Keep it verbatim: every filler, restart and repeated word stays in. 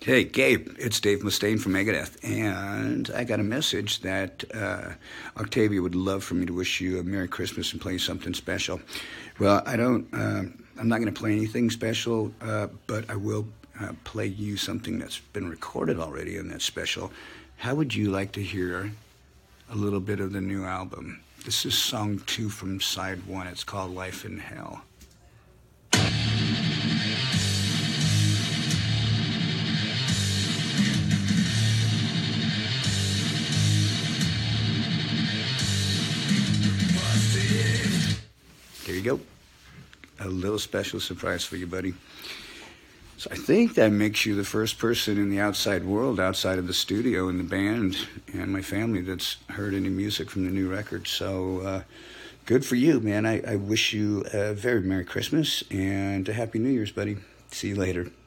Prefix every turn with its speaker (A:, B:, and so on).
A: Hey, Gabe, it's Dave Mustaine from Megadeth, and I got a message that uh, Octavia would love for me to wish you a Merry Christmas and play something special. Well, I don't, uh, I'm not going to play anything special, uh, but I will uh, play you something that's been recorded already and that's special. How would you like to hear a little bit of the new album? This is song two from side one. It's called Life in Hell. There you go. A little special surprise for you, buddy. So I think that makes you the first person in the outside world, outside of the studio and the band and my family, that's heard any music from the new record. So uh, good for you, man. I, I wish you a very Merry Christmas and a Happy New Year's, buddy. See you later.